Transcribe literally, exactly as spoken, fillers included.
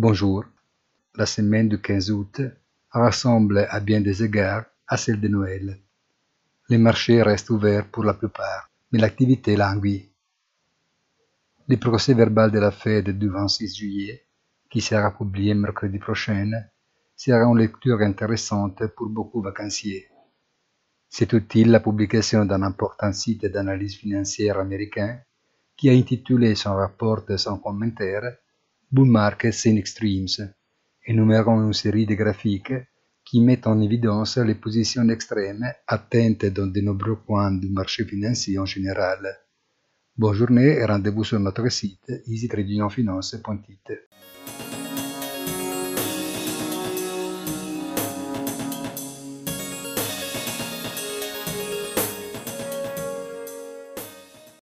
Bonjour. La semaine du quinze août ressemble à bien des égards à celle de Noël. Les marchés restent ouverts pour la plupart, mais l'activité languit. Le procès-verbal de la Fed du vingt-six juillet, qui sera publié mercredi prochain, sera une lecture intéressante pour beaucoup de vacanciers. C'est utile la publication d'un important site d'analyse financière américain qui a intitulé son rapport sans commentaire Bull Markets in Extremes, énumérant une série de graphiques qui mettent en évidence les positions extrêmes atteintes dans de nombreux coins du marché financier en général. Bonne journée et rendez-vous sur notre site easy trading finance point it.